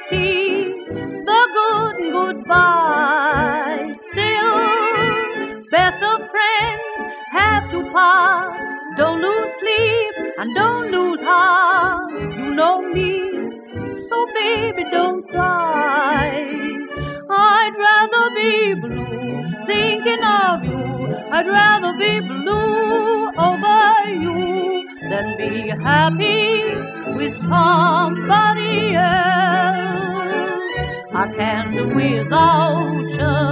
see the good and goodbye. Still, best of friends have to part. Don't lose sleep and don't lose heart. You know me, so baby don't cry. I'd rather be blue thinking of you. I'd rather be blue over you than be happy with somebody else. I can't do without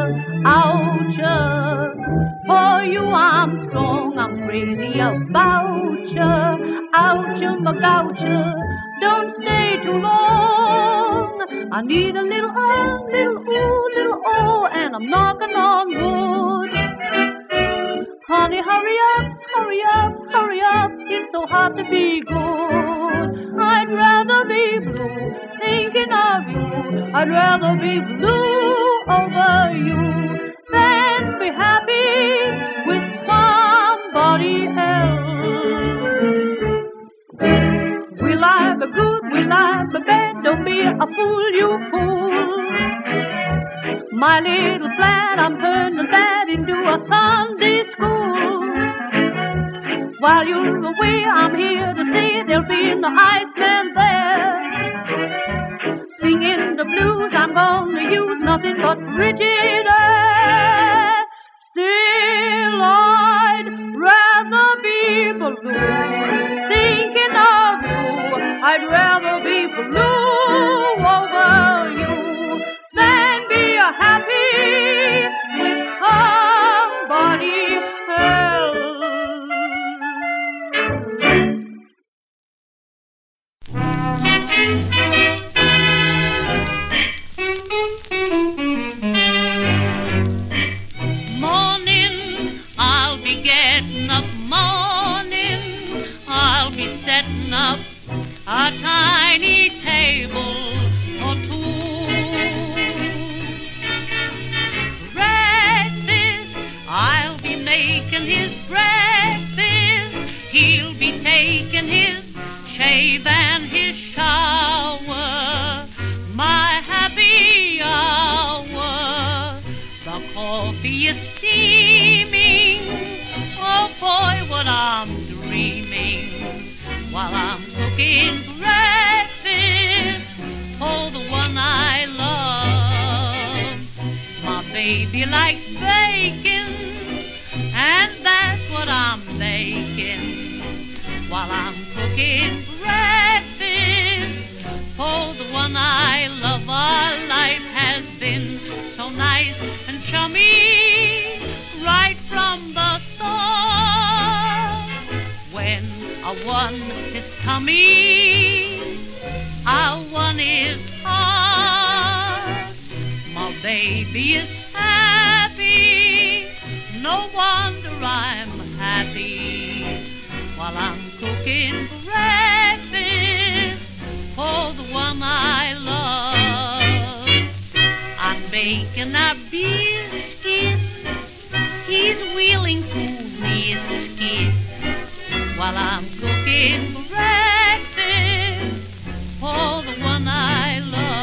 you. For you I'm strong, I'm crazy about you. Out you, don't stay too long. I need a little little and I'm knocking on wood. Honey, hurry up, it's so hard to be good. I'd rather be blue thinking of you. I'd rather be blue over you than be happy with somebody else. We like the good, we like the bad, don't be a fool, you fool. My little flat, I'm turning that into a Sunday school. While you're away, I'm here to say there'll be no Iceman there. Singing the blues, I'm gonna use nothing but rigid air. Still, I'd rather be blue thinking of you. I'd rather be blue over you than be happy with somebody else. Morning, I'll be getting up. Morning, I'll be setting up a tiny table for two. Breakfast, I'll be making his breakfast. He'll be taking his shave and his shower. My happy hour. The coffee is steaming. Oh boy, what I'm dreaming while I'm cooking breakfast for the one I love. My baby likes bacon, and that's what I'm making while I'm cooking breakfast for the one I love. Our life has been so nice and chummy right from the start. When a one is tummy, a one is hard. My baby is happy, no wonder I'm happy while I'm cooking breakfast for the one I love. I'm baking a biscuit, he's wheeling through his skit while I'm cooking breakfast for the one I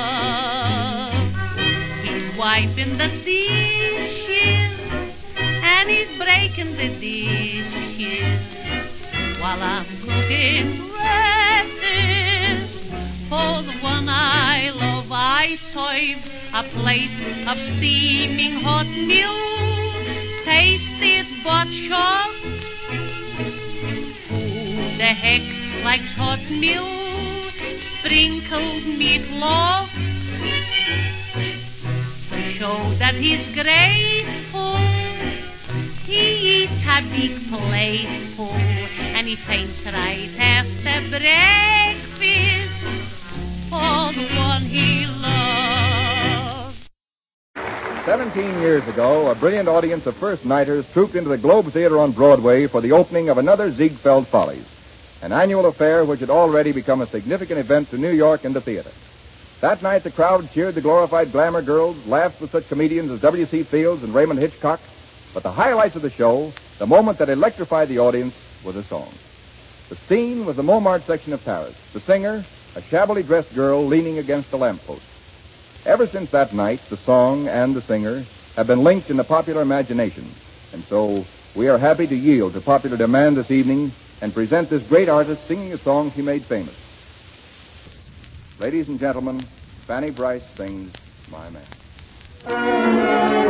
love. He's wiping the dishes and he's breaking the dishes while I'm cooking breakfast for the one I love. I serve a plate of steaming hot milk, taste it but sure. Who the heck likes hot milk, sprinkled meatloaf? To show that he's grateful, he eats a big plateful, and he faints right after breakfast for the one he loves. 17 years ago, a brilliant audience of first-nighters trooped into the Globe Theater on Broadway for the opening of another Ziegfeld Follies, an annual affair which had already become a significant event to New York and the theater. That night, the crowd cheered the glorified glamour girls, laughed with such comedians as W.C. Fields and Raymond Hitchcock. But the highlights of the show, the moment that electrified the audience, was a song. The scene was the Montmartre section of Paris. The singer, a shabbily dressed girl leaning against a lamppost. Ever since that night, the song and the singer have been linked in the popular imagination. And so we are happy to yield to popular demand this evening and present this great artist singing a song she made famous. Ladies and gentlemen, Fanny Brice sings My Man.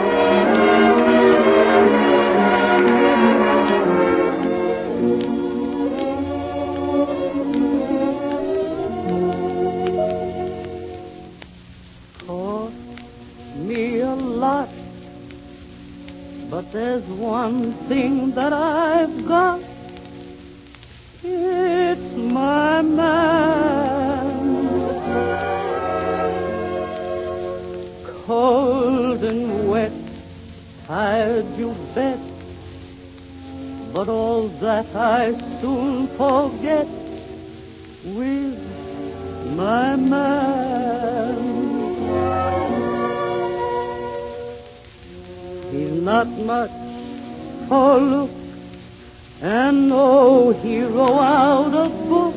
But there's one thing that I've got. It's my man. Cold and wet, tired you bet. But all that I soon forget with my man. He's not much for look and no hero out of book.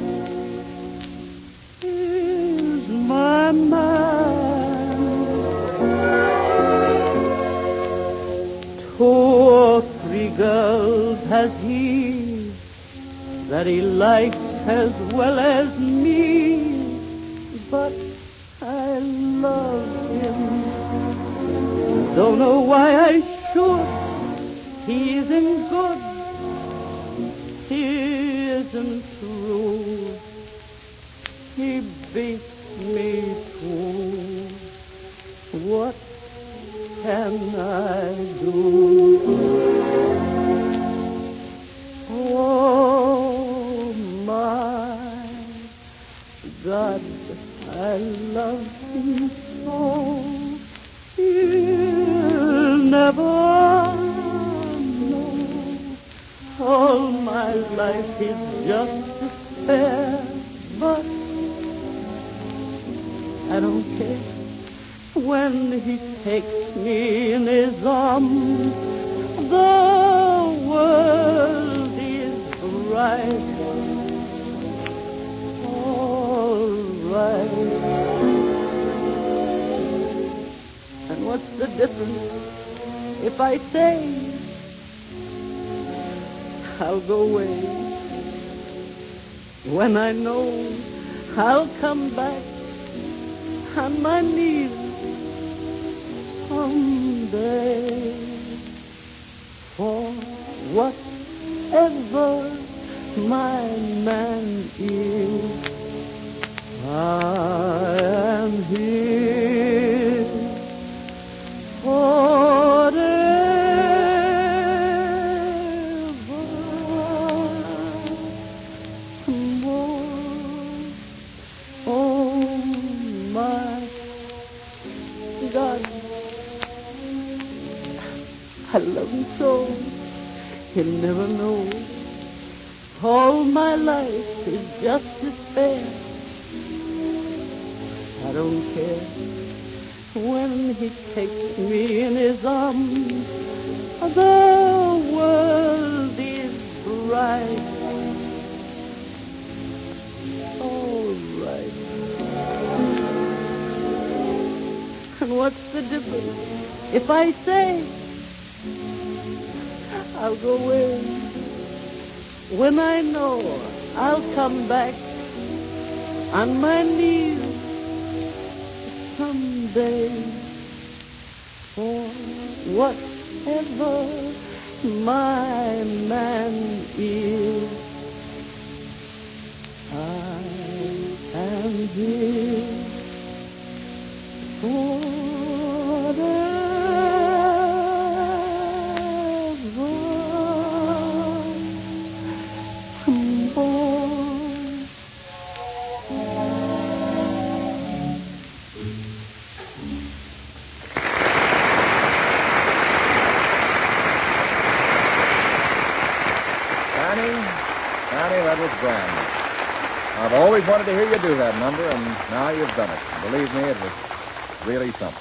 He's my man. 2 or 3 girls has he that he likes as well as me, but I love him. Don't know why I should. He isn't good. He isn't true. He beats me too. What can I do? Oh, my God, I love him so. You'll never know. All my life is just despair, but I don't care when he takes me in his arms. The world is bright, all right. And what's the difference if I say I'll go away when I know I'll come back on my knees someday? For whatever my man is, I am his forever. Oh, my God, I love him so, he'll never know. All my life is just despair. I don't care when he takes me in his arms. The world is bright, all right. And what's the difference if I say I'll go away when I know I'll come back on my knees someday? For whatever my man is, I am his forever. Fanny, that was grand. I've always wanted to hear you do that number, and now you've done it. Believe me, it was really something.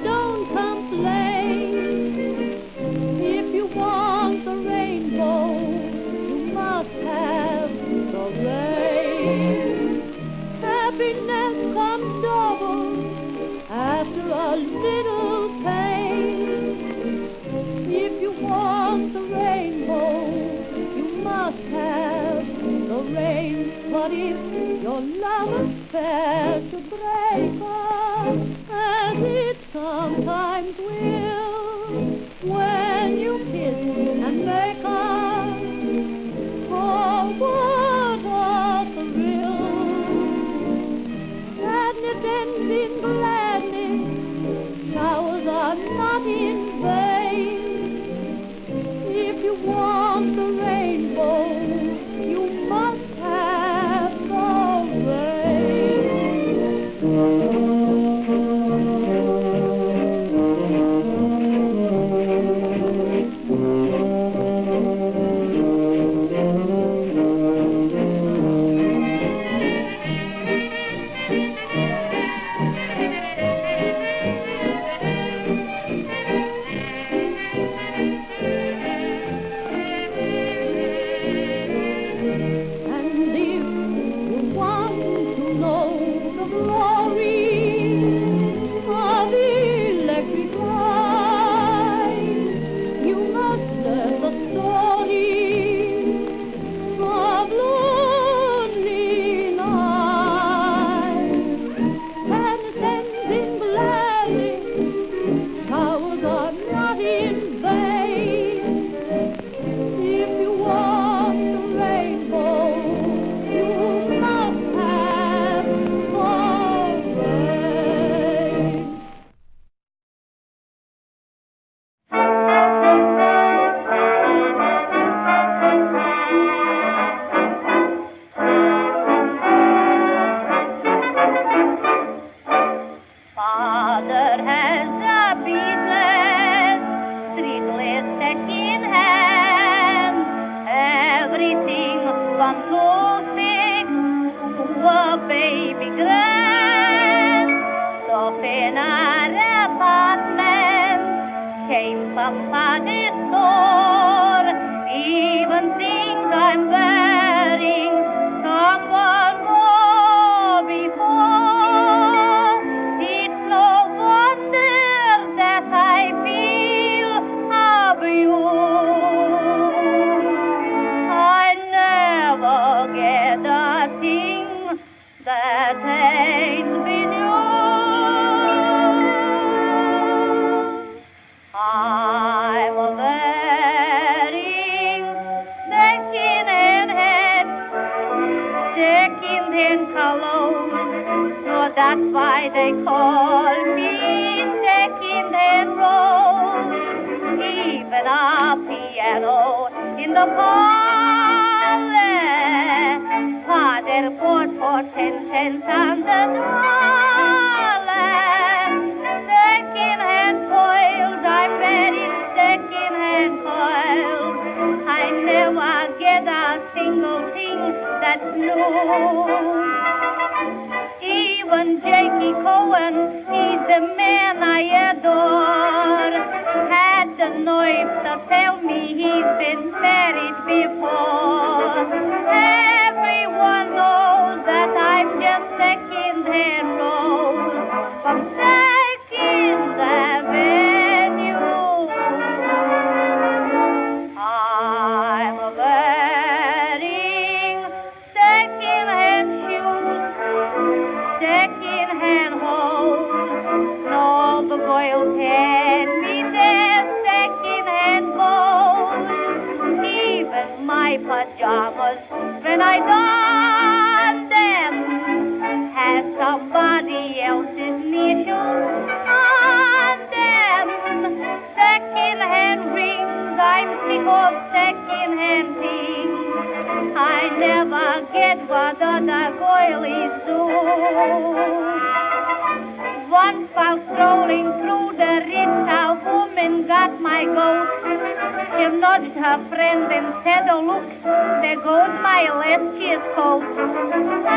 don't complain. If you want the rainbow, you must have the rain. Happiness comes double after a little pain. If you want the rainbow, you must have the rain. But if your love affair should break up, as it sometimes will, when you kiss and make up, oh, what a thrill! Sadness ends in gladness, showers are not in vain. If you want the rainbow, you must have the rain.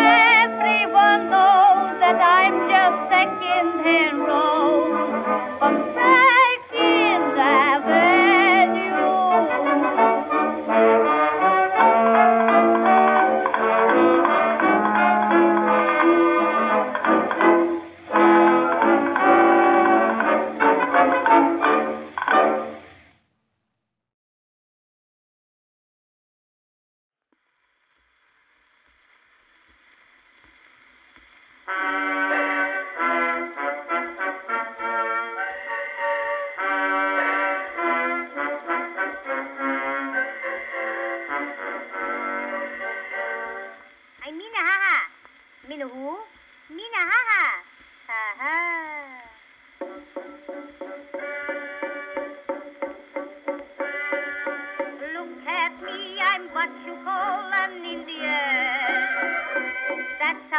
But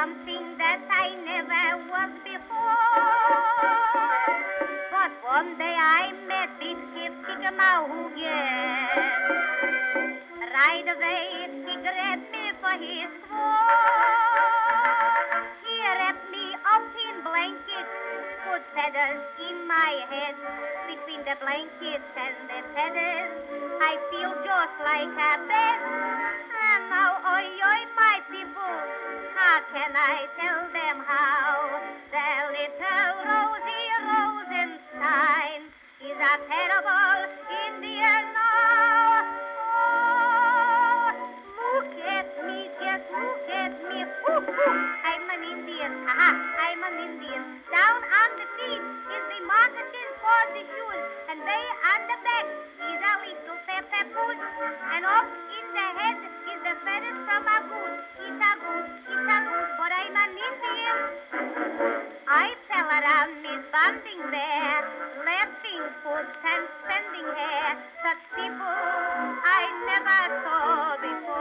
something that I never was before. But one day I met this Skip-Skigger-Mahoogan. Right away he grabbed me for his throat. He wrapped me up in blankets, put feathers in my head. Between the blankets and the feathers, I feel just like a bed. And now, oi, oi, my people, how can I tell them how? The little Rosie Rosenstein is a terrible Indian now. Oh, look at me, just look at me. Ooh, ooh, I'm an Indian, I'm an Indian. Down on the feet is the moccasin for the shoes, and way on the back is a little pepper boots, and up in the head is the feathers from a goose. It's a goose, but I'm an Indian. I fell around Miss Bunting there, laughing foots and spending hair. Such people I never saw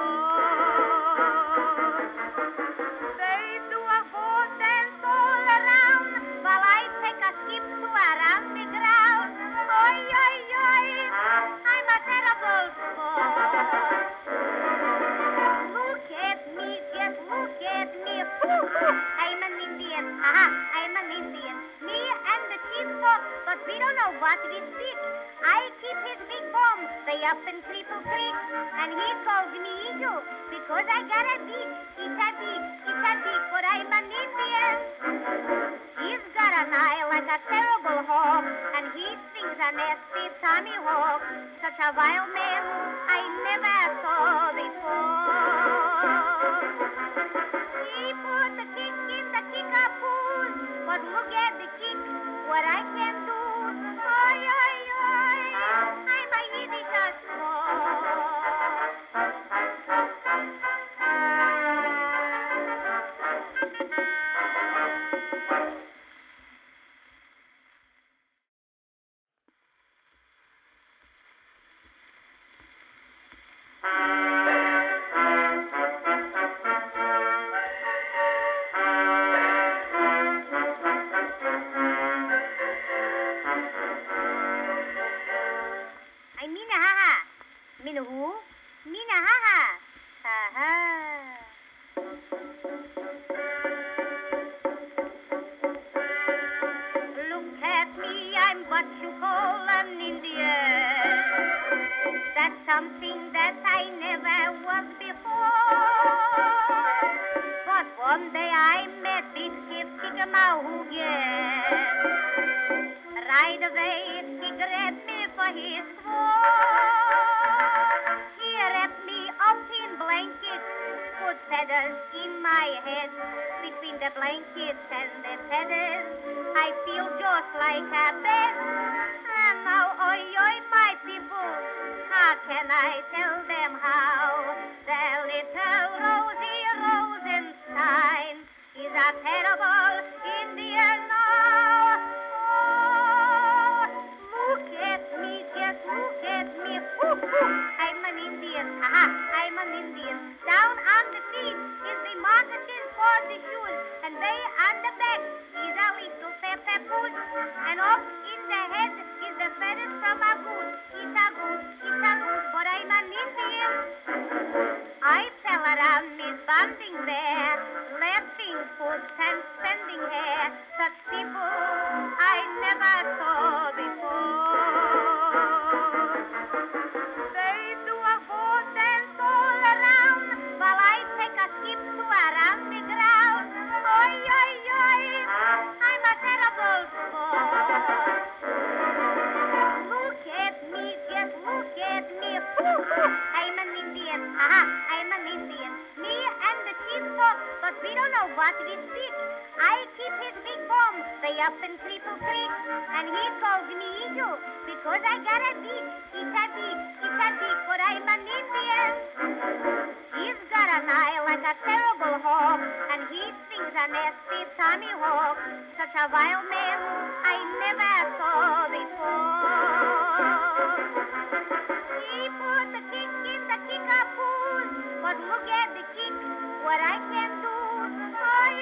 before. They do a four dance all around, while I take a skip to around the ground. Oi, oi, oi, I'm a terrible sport. Look at me, just look at me. Ooh, ooh, I'm an Indian, I'm an Indian. Me and the chief talk, but we don't know what we speak. I keep his big bomb way up in Cripple Creek, and he calls me Eagle because I got a beak. It's a beak, but I'm an Indian. He's got an eye like a terrible hawk, and he sings a nasty Tommy Hawk. Such a wild man I never saw before. He put the kick in the kick-a-poos, but look at the kick, what I can do. Oi, oi, oi, I'm a Yiddish Mina who? Mina ha-ha. Ha-ha. Look at me, I'm what you call an Indian. That's something that I never was before. But one day I met this Skip-Skigger-Mahoogan. Right away he grabbed me for his throat. He wrapped me up in blankets, put feathers in my head. Between the blankets and the feathers, I feel just like a bed. And now, oi, oi, my people, how can I tell them how? The little Rosie Rosenstein is a terrible Indian now. Oh, look at me, just look at me. Ooh, ooh, I'm an Indian, I'm an Indian. Down on the feet is the moccasin for the shoes, and way on the back is a little pepper boots, and up in the head is the feathers from a goose. It's a goose, but I'm an Indian. I fell around Miss Bunting there, laughing foots and spending hair. Such people I never saw before. They do a four dance all around, while I take a skip to around the ground. Oi, oi, oi, I'm a terrible sport. Look at me, just look at me. Ooh, ooh, I'm an Indian, I'm an Indian. Me and the chief talk, but we don't know what we speak. I keep his big bomb way up in Cripple Creek, and he calls me Eagle because I got a beak. It's a beak, but I'm an Indian. He's got an eye like a terrible hawk, and he sings a nasty Tommy Hawk. Such a wild man I never saw before. He put the kick in the kick-a-poos, but look at the kick, what I can do. Oi,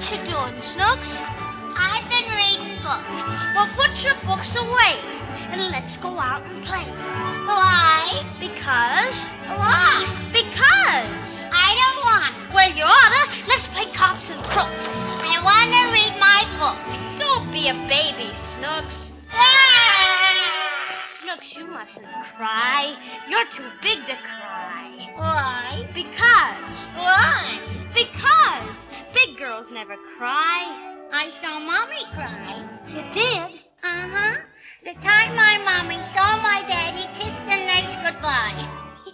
What you doing, Snooks? I've been reading books. Well, put your books away and let's go out and play. Why? Because? Why? Because. I don't want. Well, you oughta. Let's play cops and crooks. I want to read my books. Don't be a baby, Snooks. Snooks, you mustn't cry. You're too big to cry. Why? Because. Why? Because big girls never cry. I saw Mommy cry. You did? Uh-huh. The time my Mommy saw my daddy kiss the nurse goodbye.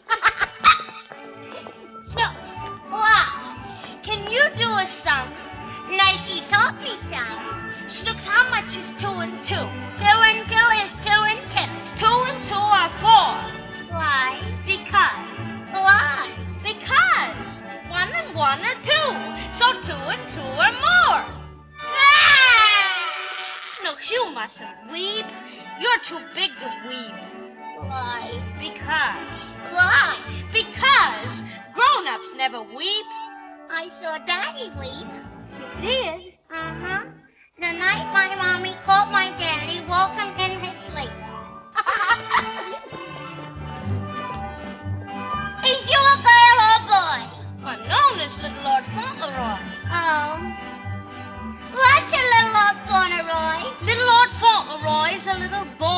Snooks, Wow. can you do a sum? Nice you taught me some. Snooks, how much is 2 and 2? 2 and 2 is 2 and 2. 2 and 2 are 4. Why? Because. Why? Because 1 and 1 are 2. So 2 and 2 are more. Snooks, you mustn't weep. You're too big to weep. Why? Because. Why? Because grown-ups never weep. I saw Daddy weep. You did? Uh-huh. The night my Mommy caught my daddy, woke him in his sleep. Is you a girl or a boy? Unknown as Little Lord Fauntleroy. Oh. What's a little Lord Fauntleroy? Little Lord Fauntleroy is a little boy